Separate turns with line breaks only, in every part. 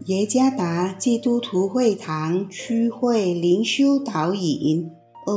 耶加达基督徒会堂区会灵修导引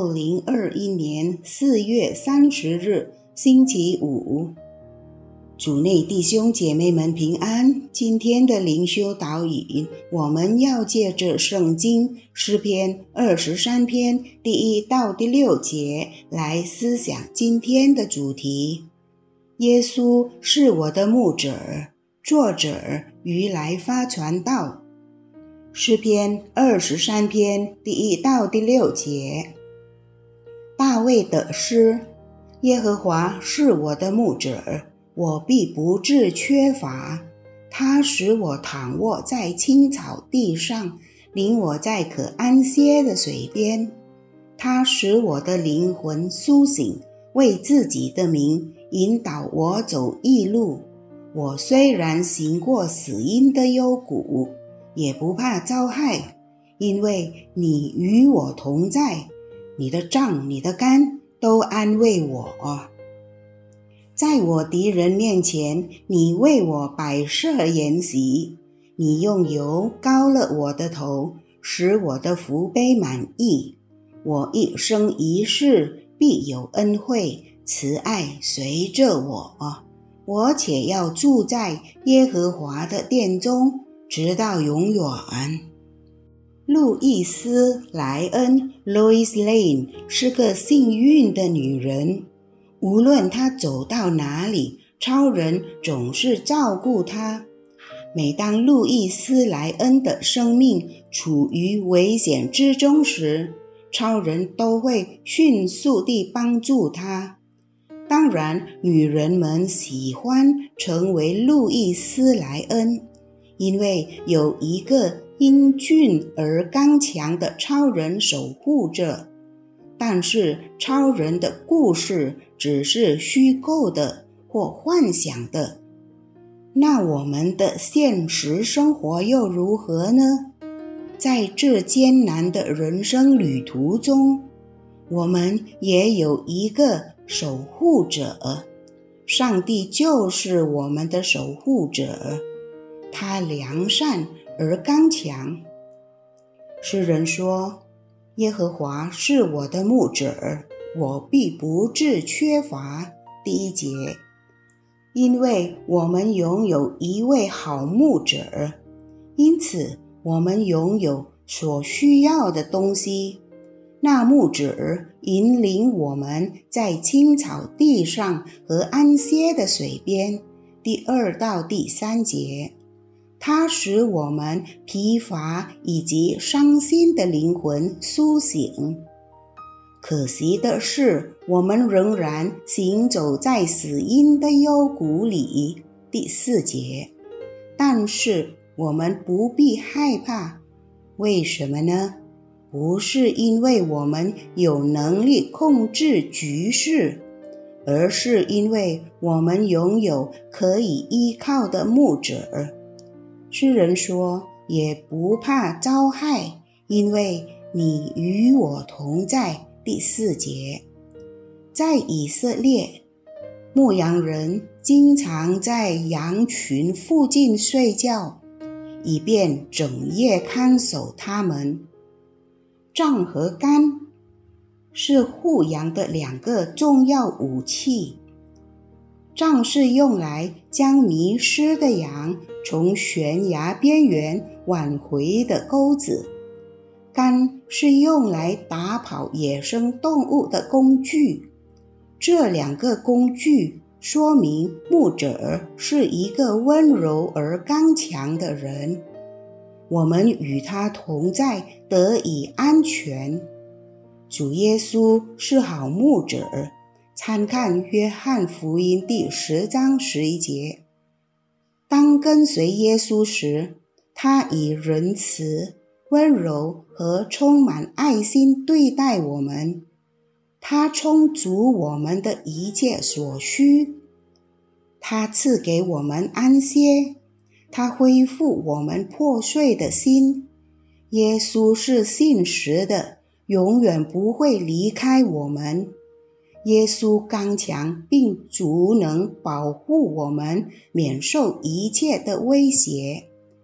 ，2021年4月30日，星期五。主内弟兄姐妹们平安。今天的灵修导引，我们要借着圣经诗篇23篇第1到第6节来思想今天的主题。耶稣是我的牧者。作者于来发传道。诗篇23篇第1到第6节。大卫的诗：耶和华是我的牧者，我必不致缺乏。他使我躺卧在青草地上，领我在可安歇的水边。他使我的灵魂苏醒，为自己的名引导我走义路。我虽然行过死荫的幽谷，也不怕遭害，因为你与我同在，你的杖你的竿都安慰我。在我敌人面前，你为我摆设筵席，你用油膏了我的头，使我的福杯满溢。我一生一世必有恩惠，慈爱随着我且要住在耶和华的殿中，直到永远。路易斯·莱恩 Lois Lane 是个幸运的女人，无论她走到哪里，超人总是照顾她。每当路易斯·莱恩的生命处于危险之中时，超人都会迅速地帮助她。当然，女人们喜欢成为路易斯·莱恩，因为有一个英俊而刚强的超人守护着。但是超人的故事只是虚构的或幻想的，那我们的现实生活又如何呢？在这艰难的人生旅途中，我们也有一个守护者。上帝就是我们的守护者，他良善而刚强。诗人说，耶和华是我的牧者，我必不致缺乏。第1节，因为我们拥有一位好牧者，因此我们拥有所需要的东西。那牧者引领我们在青草地上和安歇的水边。第2到第3节，他使我们疲乏以及伤心的灵魂苏醒。可惜的是，我们仍然行走在死荫的幽谷里。第4节，但是我们不必害怕。为什么呢？不是因为我们有能力控制局势，而是因为我们拥有可以依靠的牧者。诗人说，也不怕遭害，因为你与我同在。第4节，在以色列，牧羊人经常在羊群附近睡觉，以便整夜看守它们。杖和竿是护羊的2个重要武器。杖是用来将迷失的羊从悬崖边缘挽回的钩子，竿是用来打跑野生动物的工具。这2个工具说明牧者是一个温柔而刚强的人。我们与他同在，得以安全。主耶稣是好牧者，参看约翰福音第10章11节。当跟随耶稣时，他以仁慈、温柔和充满爱心对待我们。他充足我们的一切所需，他赐给我们安歇，他恢复我们破碎的心。耶稣是信实的，永远不会离开我们。耶稣刚强并足能保护我们免受一切的威胁。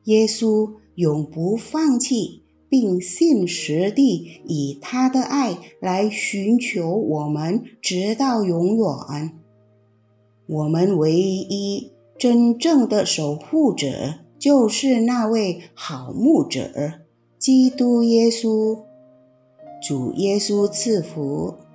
耶稣永不放弃，并信实地以他的爱来寻求我们直到永远。我们唯一真正的守护者就是那位好牧者，基督耶稣。主耶稣赐福。